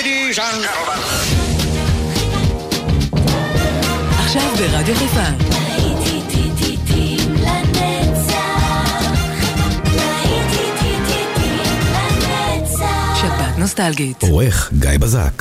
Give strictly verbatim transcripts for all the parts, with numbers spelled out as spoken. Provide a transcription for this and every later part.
Ladies and gentlemen. עכשיו ברדיו חיפה. שבת נוסטלגית. עורך גיא בזק.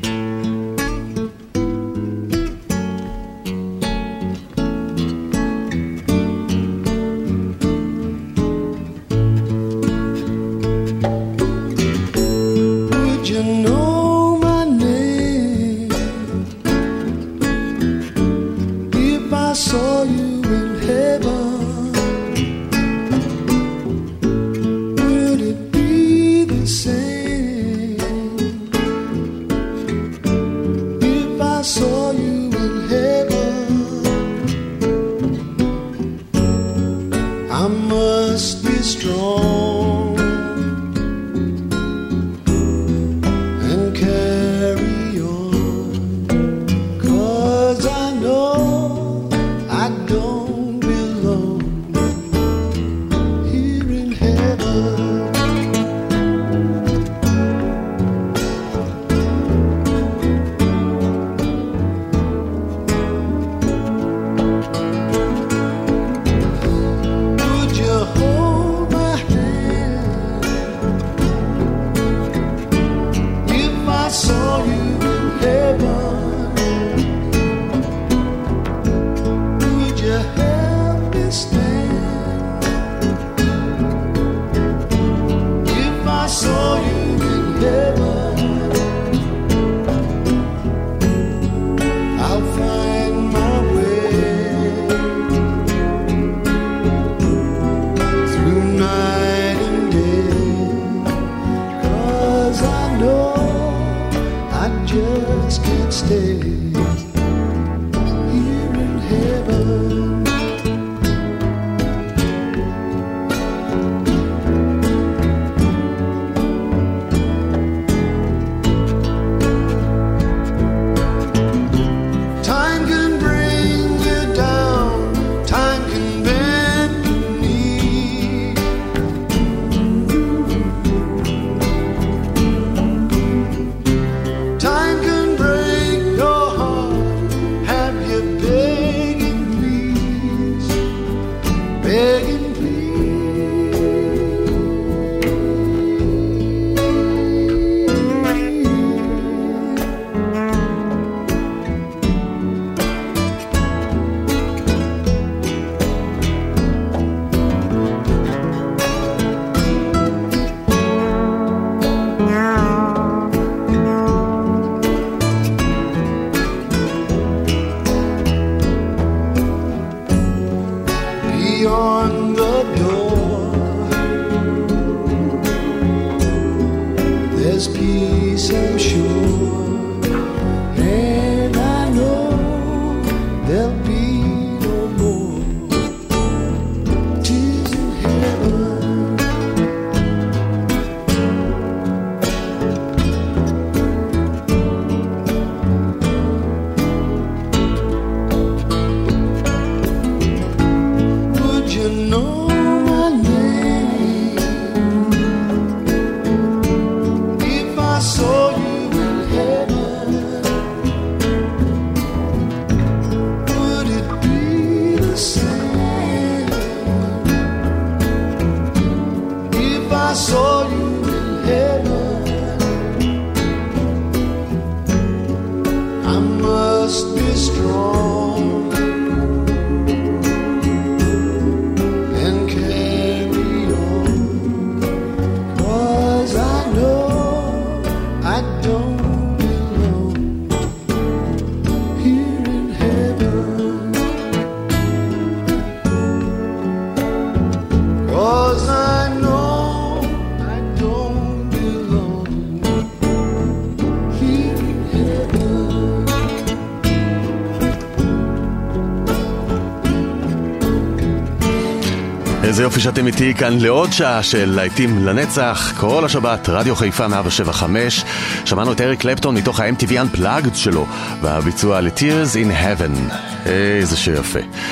איזה יופי שאתם איתי כאן לעוד שעה של להיטים לנצח, כל השבת, רדיו חיפה מאה שבע חמש. שמענו את אריק קלפטון מתוך ה-אם טי וי Unplugged שלו, והביצוע ל-Tears in Heaven. איזה שיר יפה.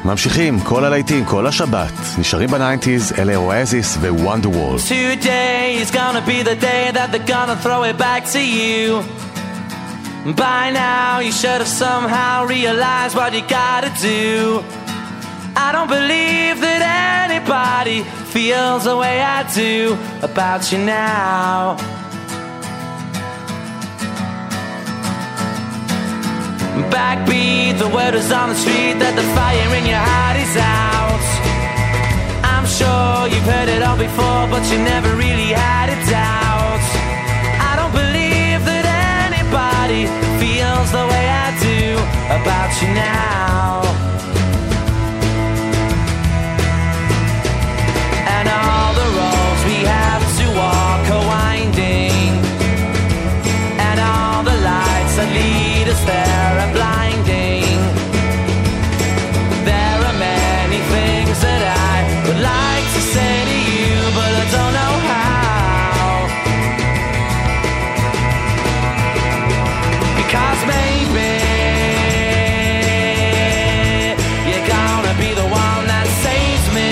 ממשיכים, כל הלהיטים, כל השבת, נשארים בניינטיז, אלה אואזיס ו-Wonderwall. Today is gonna be the day that they're gonna throw it back to you. By now you should have somehow realized what you gotta do. I don't believe that anybody feels the way I do about you now. Backbeat, the word is on the street that the fire in your heart is out. I'm sure you've heard it all before, but you never really had a doubt. I don't believe that anybody feels the way I do about you now. And all the roads we have to walk are winding, and all the lights that lead us there are blinding. There are many things that I would like to say to you, but I don't know how. Because maybe you're gonna be the one that saves me.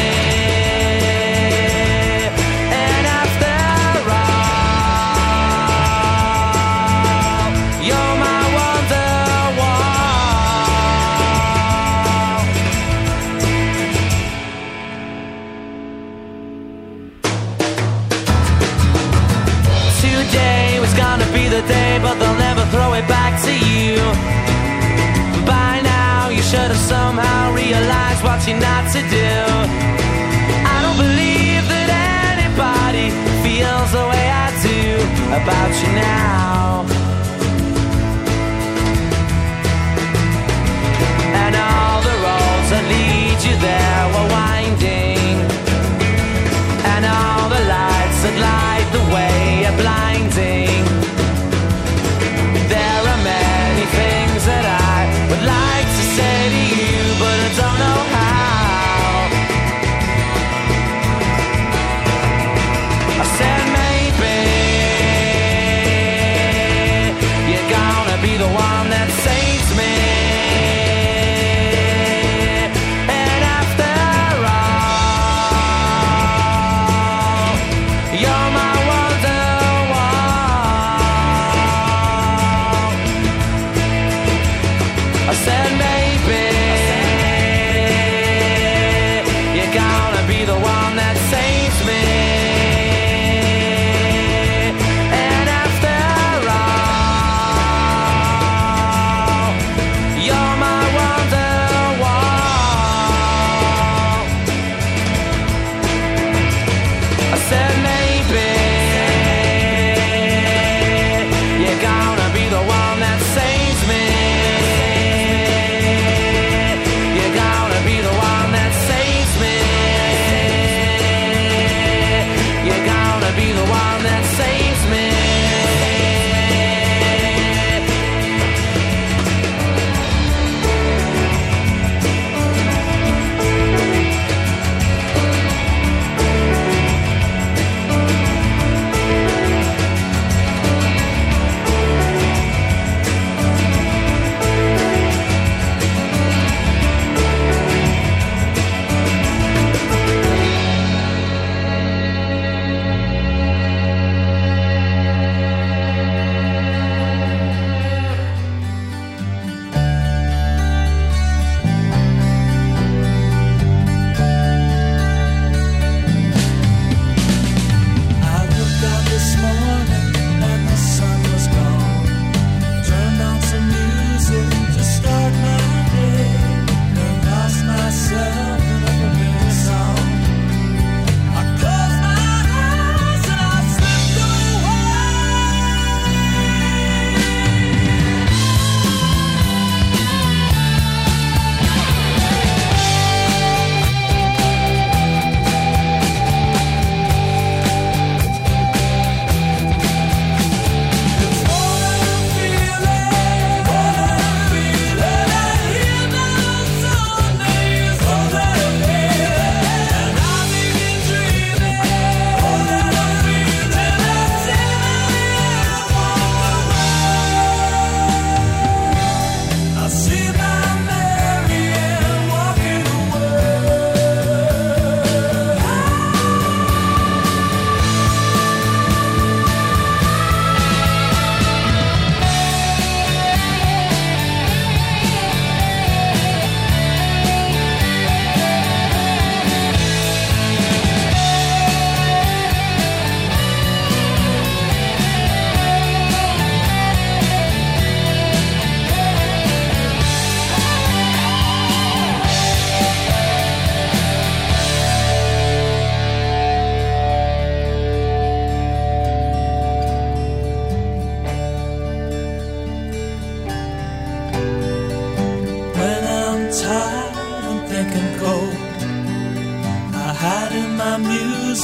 And after all, you're my be the day, but they'll never throw it back to you. By now you should have somehow realized what you're not to do. I don't believe that anybody feels the way I do about you now. And all the roads that lead you there were winding, and all the lights that light the way are blinding. There are many things that I would like to say to you, but I don't know how. I said maybe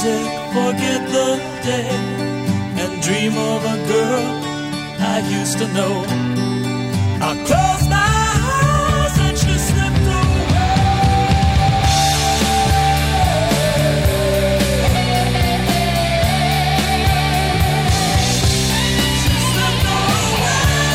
music, forget the day, and dream of a girl I used to know. I close my eyes and she slipped away. She slipped away.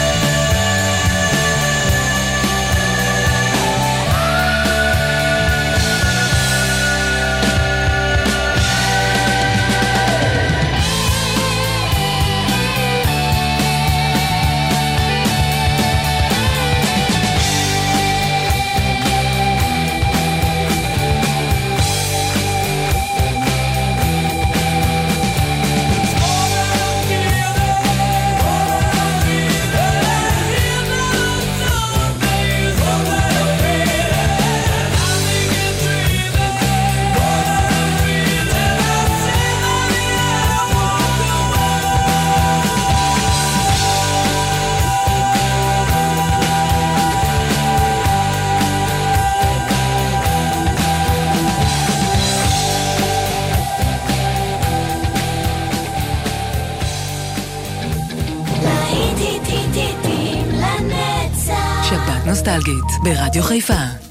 שבת נוסטלגית ברדיו חיפה.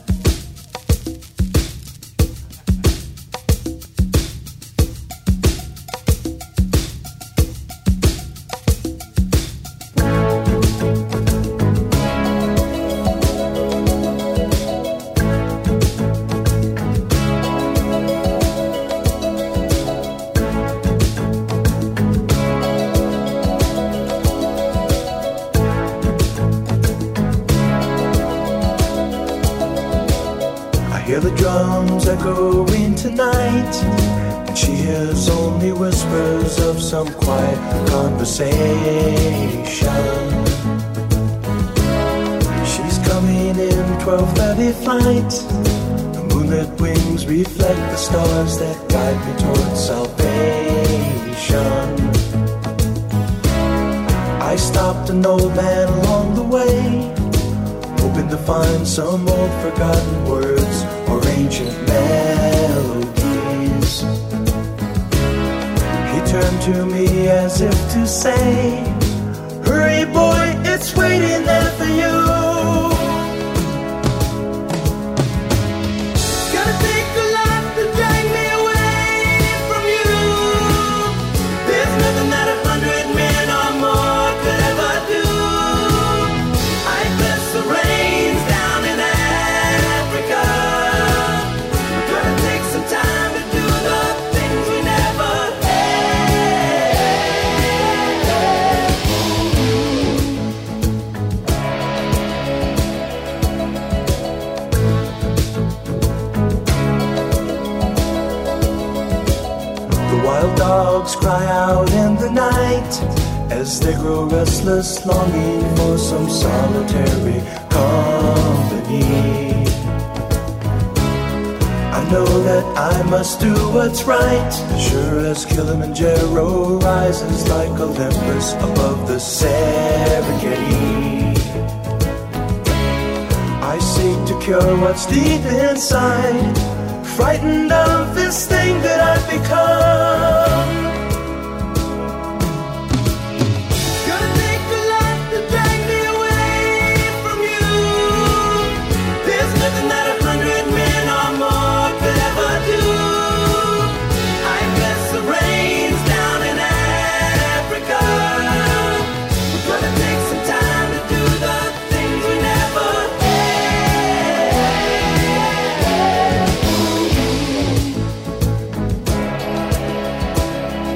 Hear the drums echoing tonight, and she hears only whispers of some quiet conversation. She's coming in twelve thirty flight. The moonlit wings reflect the stars that guide me towards salvation. I stopped an old man along the way, hoping to find some old forgotten words or ancient melodies. He turned to me as if to say, hurry boy, it's waiting there for you. It's gonna take a lot to drag me away from you. There's nothing that a hundred men or more could ever do. I bless the rains down in Africa. We're gonna take some time to do the things we never The wild dogs cry out in the night as they grow restless, longing for some solitary company. I know that I must do what's right, sure as Kilimanjaro rises like Olympus above the Serengeti. I seek to cure what's deep inside, frightened of this thing that I've become. Gonna take a lot to drag me away from you. There's nothing that a hundred men or more could ever do. I bless the rains down in Africa. We're gonna take some time to do the things we never had.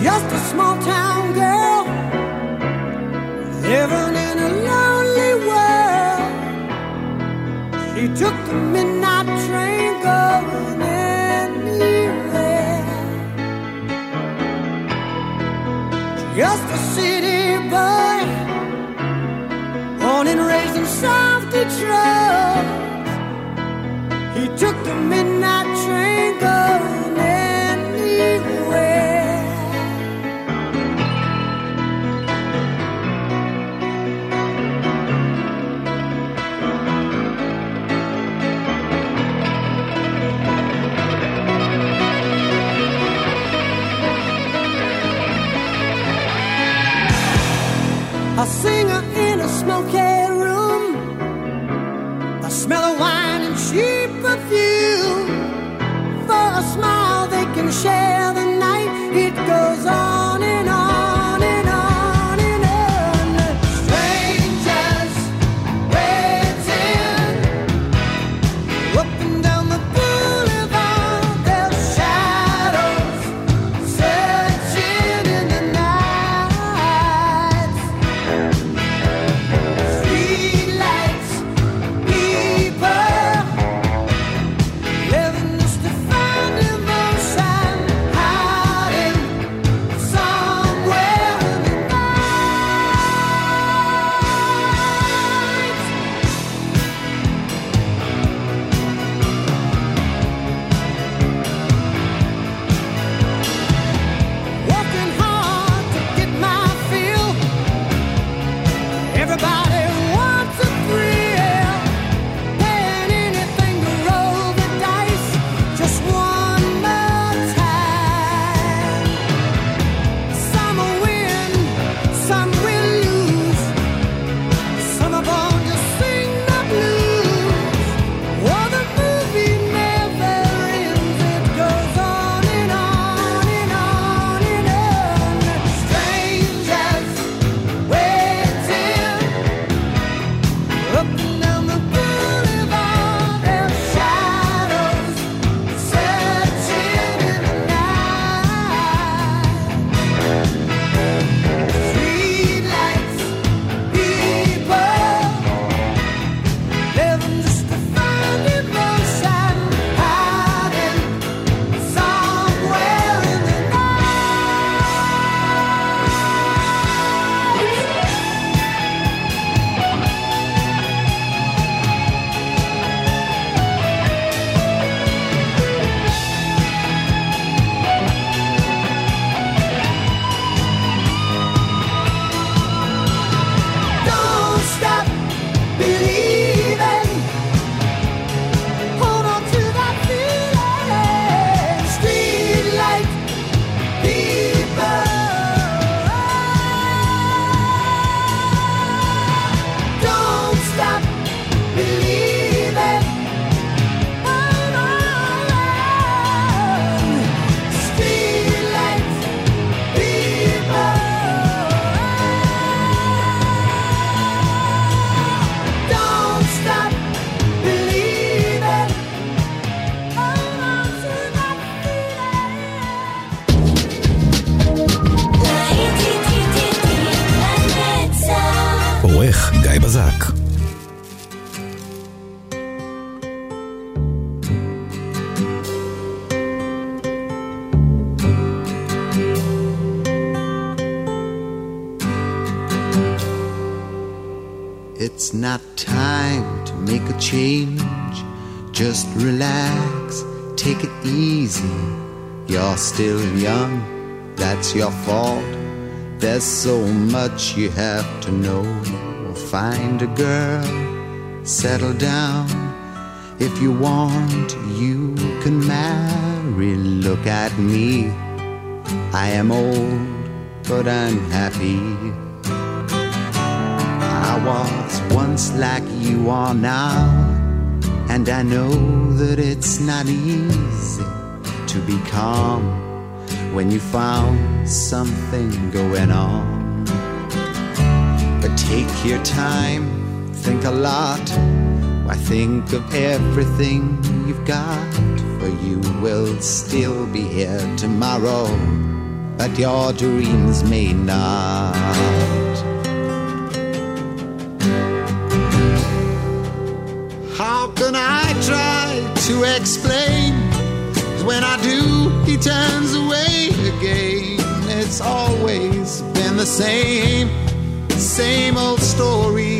just a small town girl living in a lonely world. She took the midnight train going anywhere. Just a city boy, born and raised in South Detroit. He took the midnight train going anywhere. A singer in a smoky room, the smell of wine and cheap perfume. For a smile they can share the night. It goes on and on and on and on. Strangers waiting up and down the boulevard, their shadows searching in the night. Streetlights, people living just to find emotion, hiding somewhere in the night. Working hard to get my fill. Everybody wants a thrill, paying anything to roll the dice just one more time. Some will win, some will lose. Some are born to sing the blues. Oh, the movie never ends. It goes on and on and on and on. Strangers waiting up and down the boulevard, their shadows searching in the night. Streetlights, people living just to find emotion, hiding somewhere in the Don't stop believing. Hold on to that feeling. Streetlight people. Don't stop believing. Hold on. Streetlight people. Don't stop believing. Hold on to that feeling. עורך גיא בזק. It's not time to make a change. Just relax, take it easy. You're still young, that's your fault. There's so much you have to know. Find a girl, settle down. If you want, you can marry. Look at me, I am old, but I'm happy. I was once like you are now, and I know that it's not easy to be calm when you found something going on. But take your time, think a lot. Why think of everything you've got, for you will still be here tomorrow. but your dreams may not. How can I try to explain? 'Cause when I do, he turns away again. It's always been the same, same old story.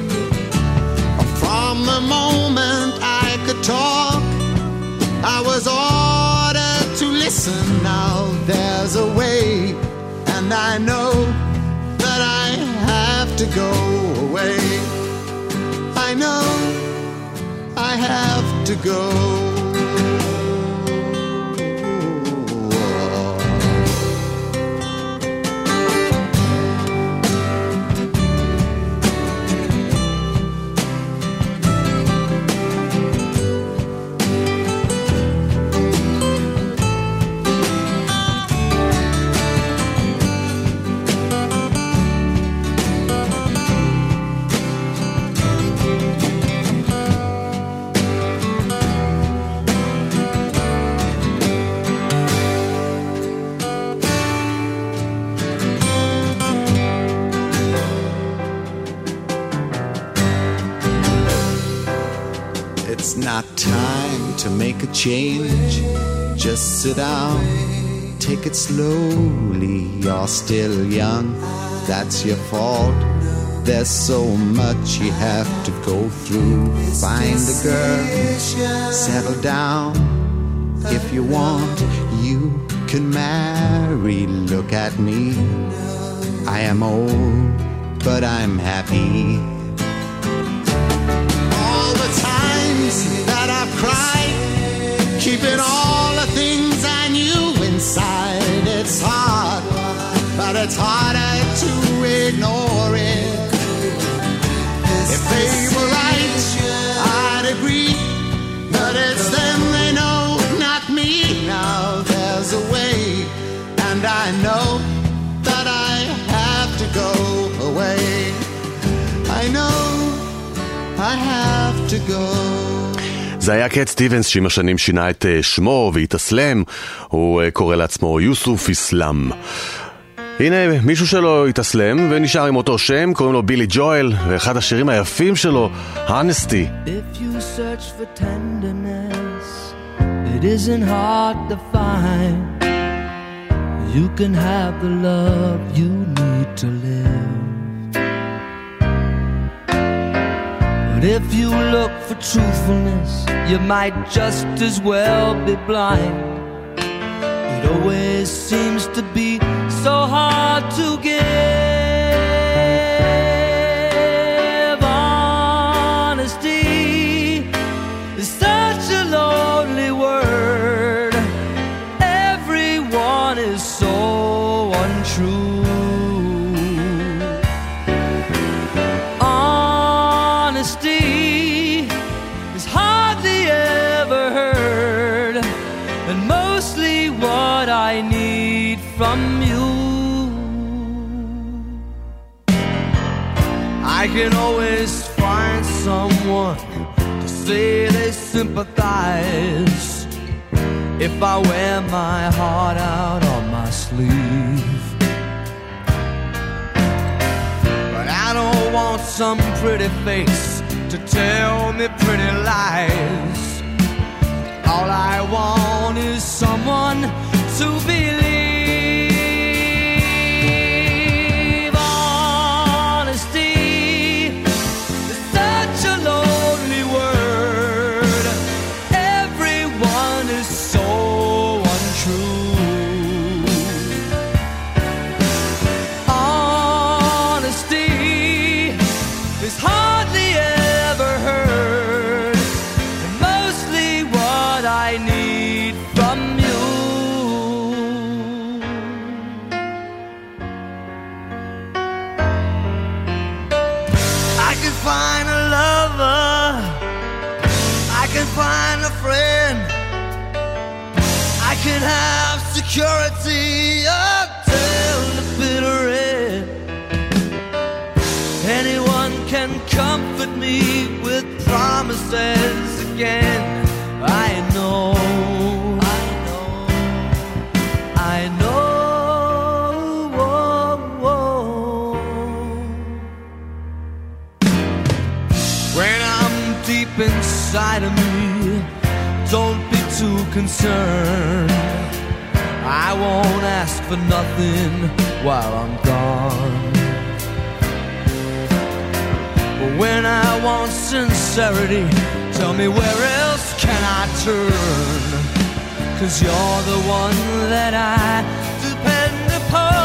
From the moment I could talk, I was ordered to listen. Now there's a way, and I know that I have to go away. I know I have to go. It's not time to make a change. Just sit down, take it slowly. You're still young, that's your fault. There's so much you have to go through. Find a girl, settle down. If you want, you can marry. Look at me, I am old, but I'm happy. That I've cried, keeping all the things I knew inside. It's hard, but it's harder to ignore it. If they were right, I'd agree, but it's them they know, not me. Now there's a way, and I know that I have to go away. I know I have to go. זה היה קט סטיבנס שעם השנים שינה את שמו והתאסלם, הוא קורא לעצמו יוסוף איסלאם. הנה מישהו שלו התאסלם ונשאר עם אותו שם, קוראים לו בילי ג'ואל, ואחד השירים היפים שלו, Honesty. If you search for tenderness, it isn't hard to find. You can have the love you need to live. But if you look for truthfulness, you might just as well be blind. It always seems to be so hard to give. Honesty is such a lonely word. Everyone is so untrue. Is hardly ever heard, and mostly what I need from you. I can always find someone to say they sympathize if I wear my heart out on my sleeve. But I don't want some pretty face to tell me pretty lies. All I want is someone to believe. Honesty is such a lonely word. Everyone is so untrue. Honesty is hardly ever heard, and mostly what I need from you. I can find a lover, I can find a friend, I can have security until the bitter end. Anyone can comfort me with promises again. I know, I know, I know to me. Don't be too concerned. I won't ask for nothing while I'm gone. But when I want sincerity, tell me where else can I turn? 'Cause you're the one that I depend upon.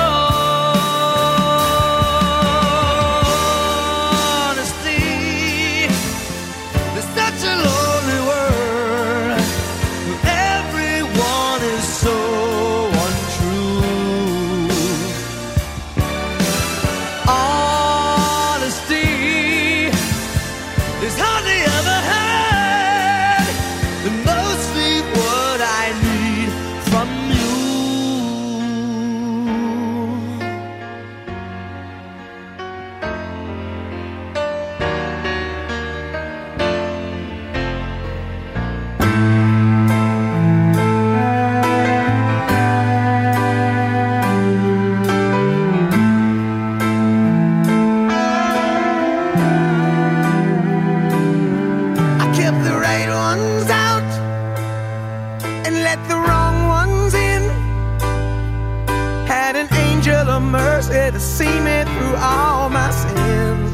To see me through all my sins.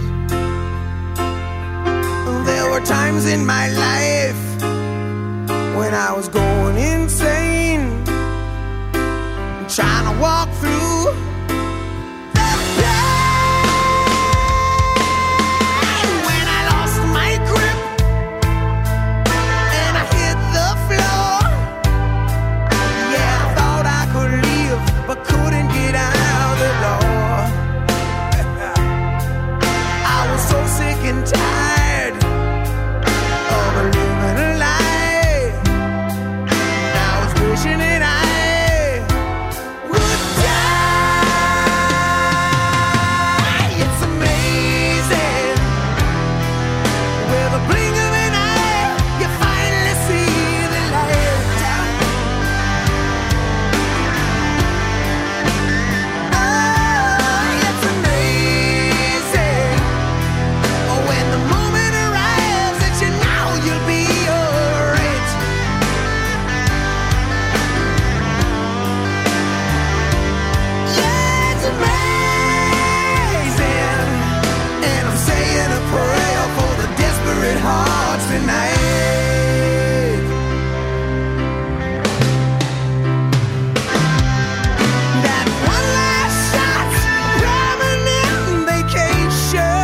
There were times in my life when I was going insane, trying to walk through the pain. When I lost my grip and I hit the floor, yeah, I thought I could leave but couldn't get out the door. So sick and tired of living a lie. I was wishing that I would die. It's amazing. With a blink of an eye, you finally see the light. Oh, it's amazing. When the moment arrives that you know you'll be alright. Yeah, it's amazing. And I'm saying a prayer for the desperate hearts tonight. That one last shot, permanent vacation.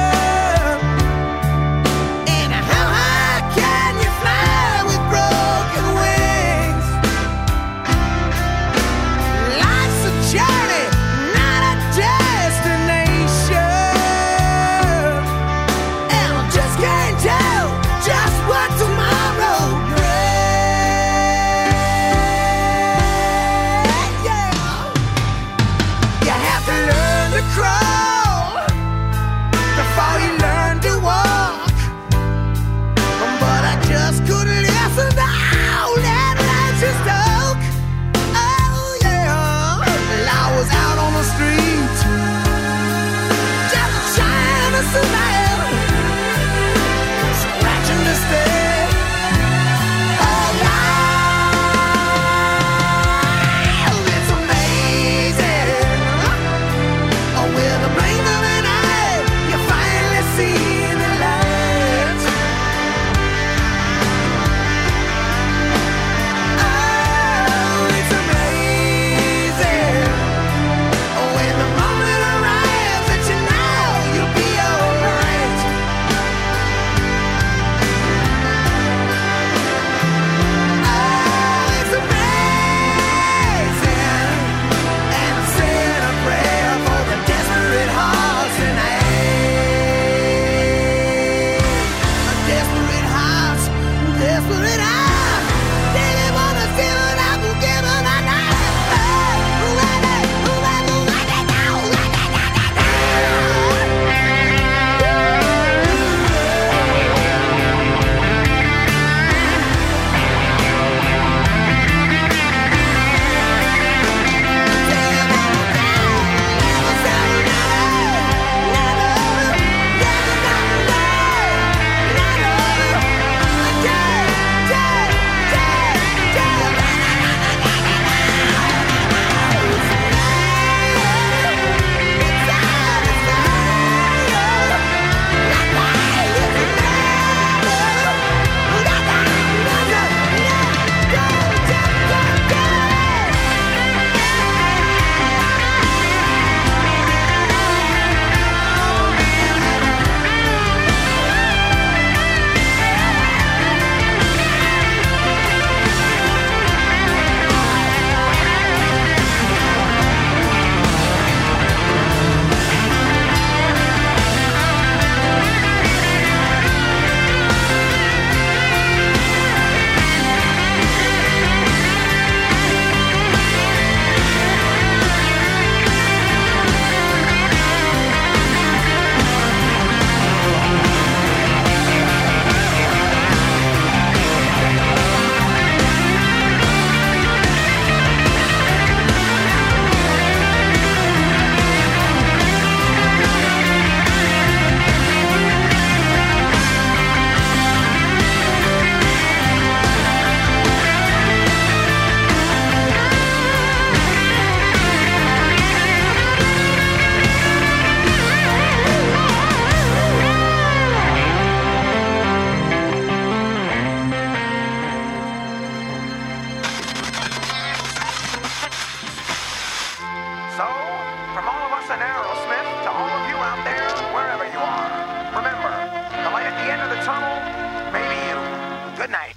With a blink from all of us in Aerosmith to all of you out there, wherever you are. Remember, the light at the end of the tunnel may be you. Good night.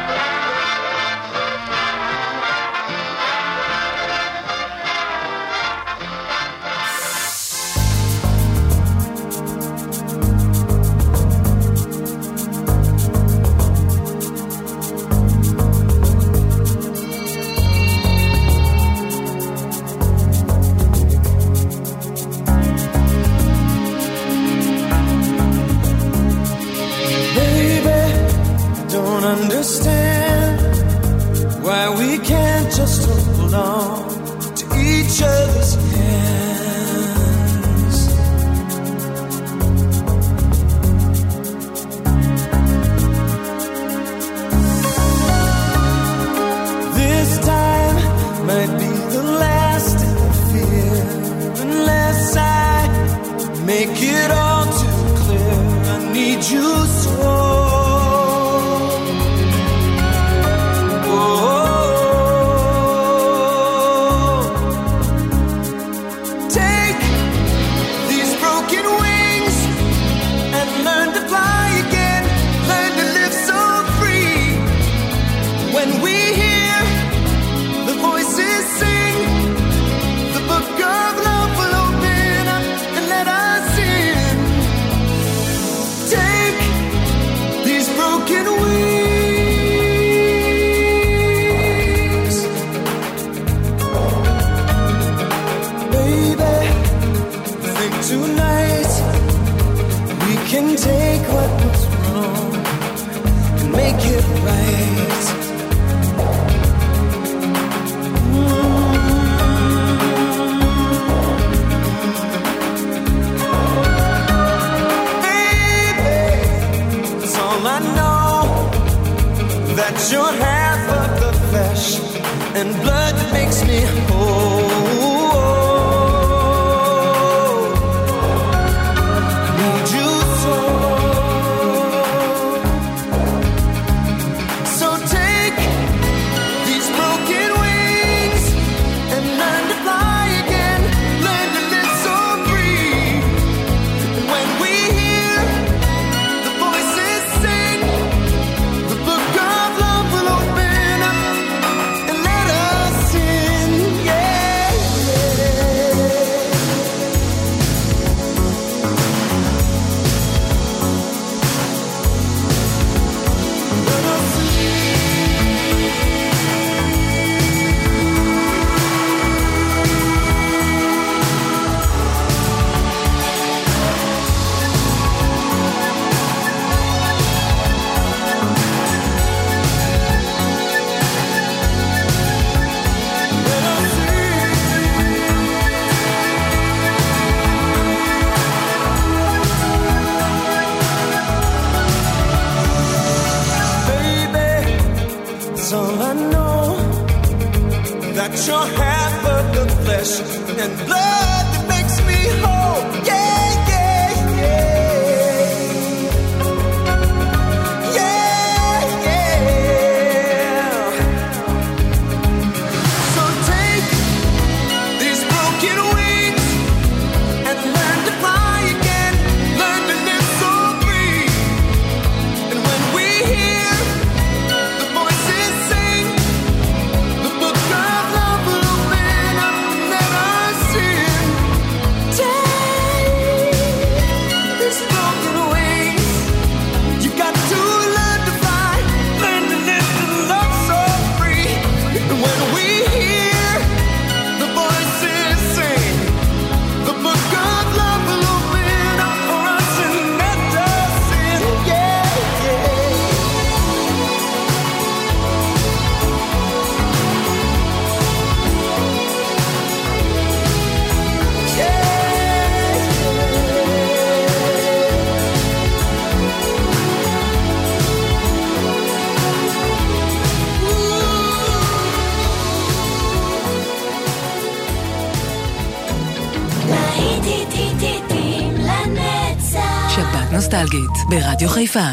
Understand why we can't just hold on to each other's hands. This time might be the last I fear, unless I make it all too clear. I need you so. Take what was wrong and make it right. Mm-hmm. Baby, that's all I know, that you're half of the flesh and blood that makes me whole. You're half of the flesh and blood that makes me whole. Yeah, yeah, yeah. Yeah, yeah. So take these broken wings and learn to fly again. Learn to live so free. And when we hear the voices sing the book of love, נוסטלגית ברדיו חיפה.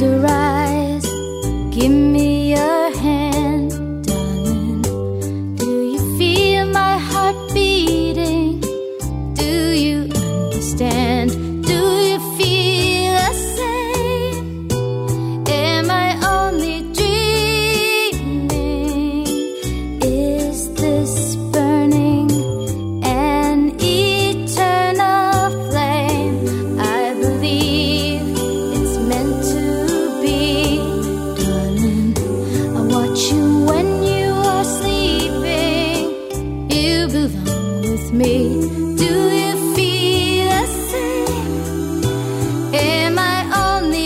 Close your eyes, give me your hand, darling. Do you feel my heart beating? Do you understand? Do you feel the same? Am I only dreaming? Is this burning an eternal flame? I believe it's meant to be, darling. I watch you when you are sleeping. You belong with me. Do you feel the same? Am I only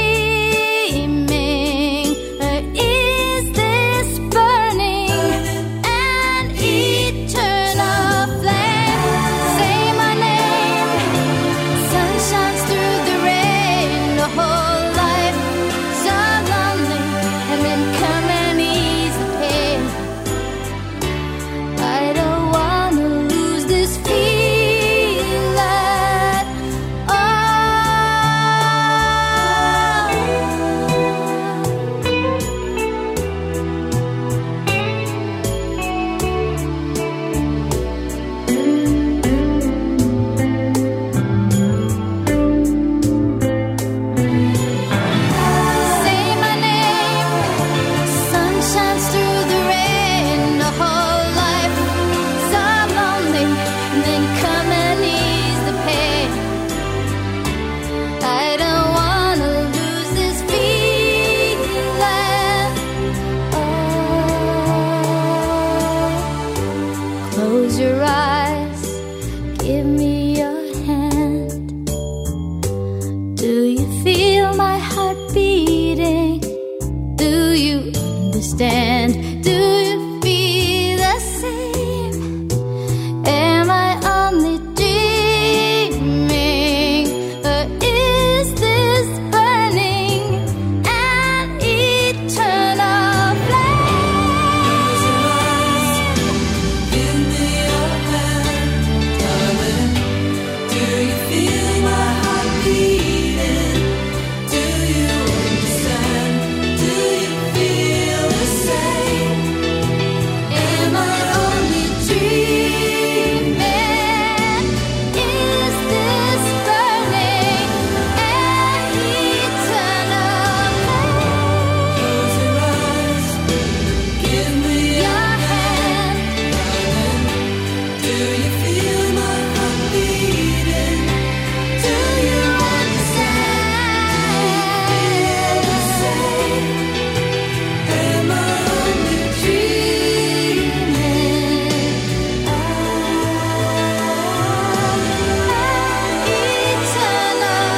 dreaming? Or is this burning an eternal flame? Say my name. Sun shines through the rain. The whole life so lonely, and then come and ease the pain. I don't wanna lose this feeling. Oh. Say my name. Sun shines through the rain. The whole life so lonely, and then come and ease the pain. I don't wanna lose this feeling. Oh. Close your eyes, give me your hand. Do you feel my heart beating? Do you understand? Do you feel the same? Am I only dreaming? Or is this burning an eternal flame? Give me your hand, darling. Do you feel my heart beating? Do you understand? Do you feel the same? Am I only dreaming? Is this burning an eternal flame? Close your eyes, give me your hand, darling. Do you feel my heart beating? Do you understand? The same. Am I only dreaming? Oh, an eternal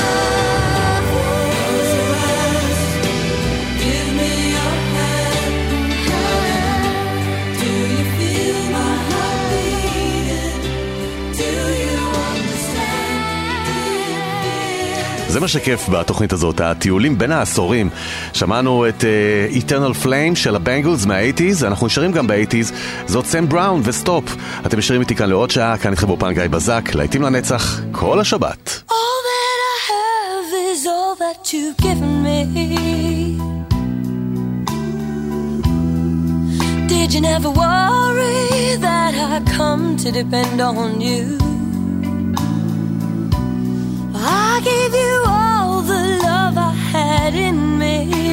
flame. Give me your hand, darling. Do you feel my heart beating? Do you understand? Do you feel? זה מה שכיף בתוכנית הזאת, הטיולים בין העשורים. שמענו את uh, Eternal Flame של הבנגלס מה-שמונים, אנחנו נשארים גם ב-שמונים. זאת סם בראון וסטופ. אתם נשארים איתי כאן לעוד שעה, כאן איתכם באופן גיא בזק, להיטים לנצח כל השבת. All that I have is all that you've given me. Did you never worry that I come to depend on you? I gave you all the love I had in me.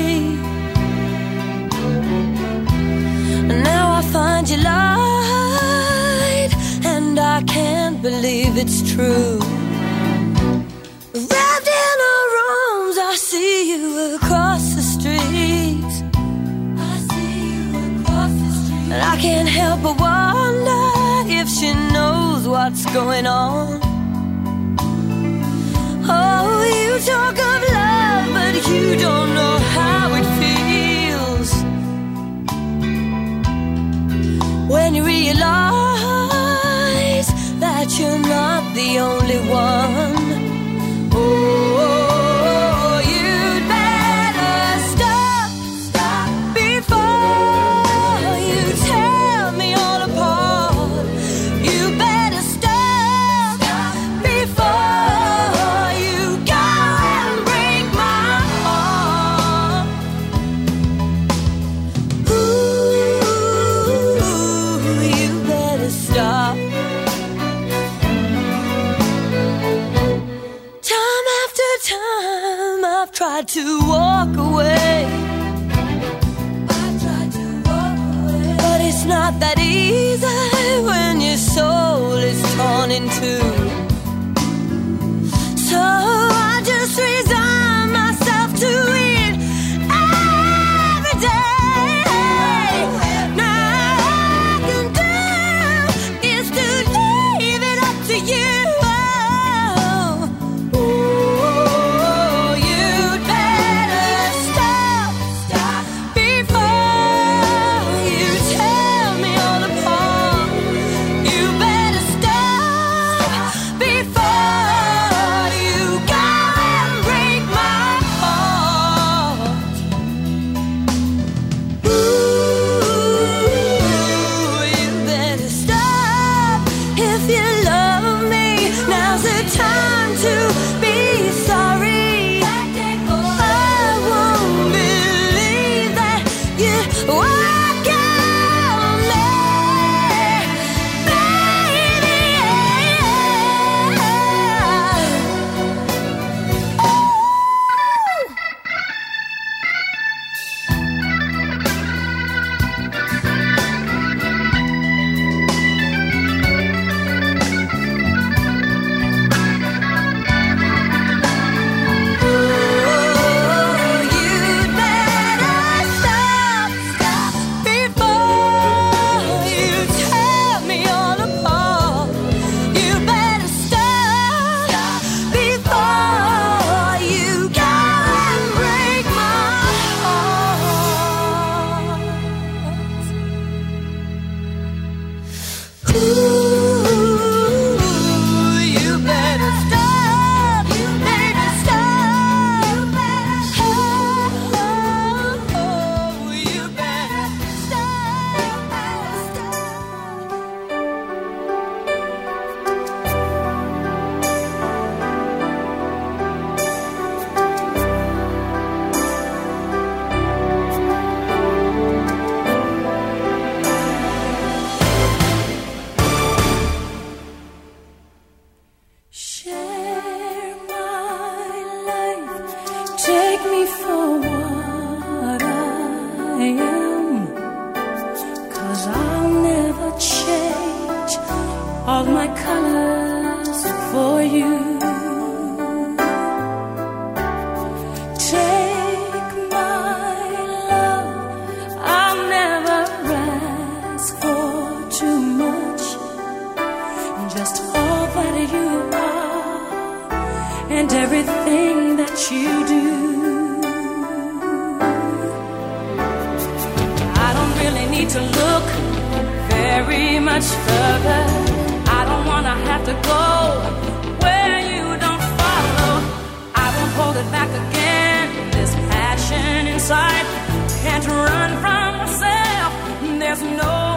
And now I find you lied, and I can't believe it's true. Wrapped in her arms, I see you across the street. I see you across the street. And I can't help but wonder if she knows what's going on. Oh, you talk of love, but you don't know how it feels. When you realize that you're not the only one. Oh, you'd better stop, stop before you tear me all apart. You better stop, stop tried to walk away. I tried to walk away. But it's not that easy when your soul is torn in two. So I just resign myself to it every day. Now all I can do is to leave it up to you. Can't run from myself. There's no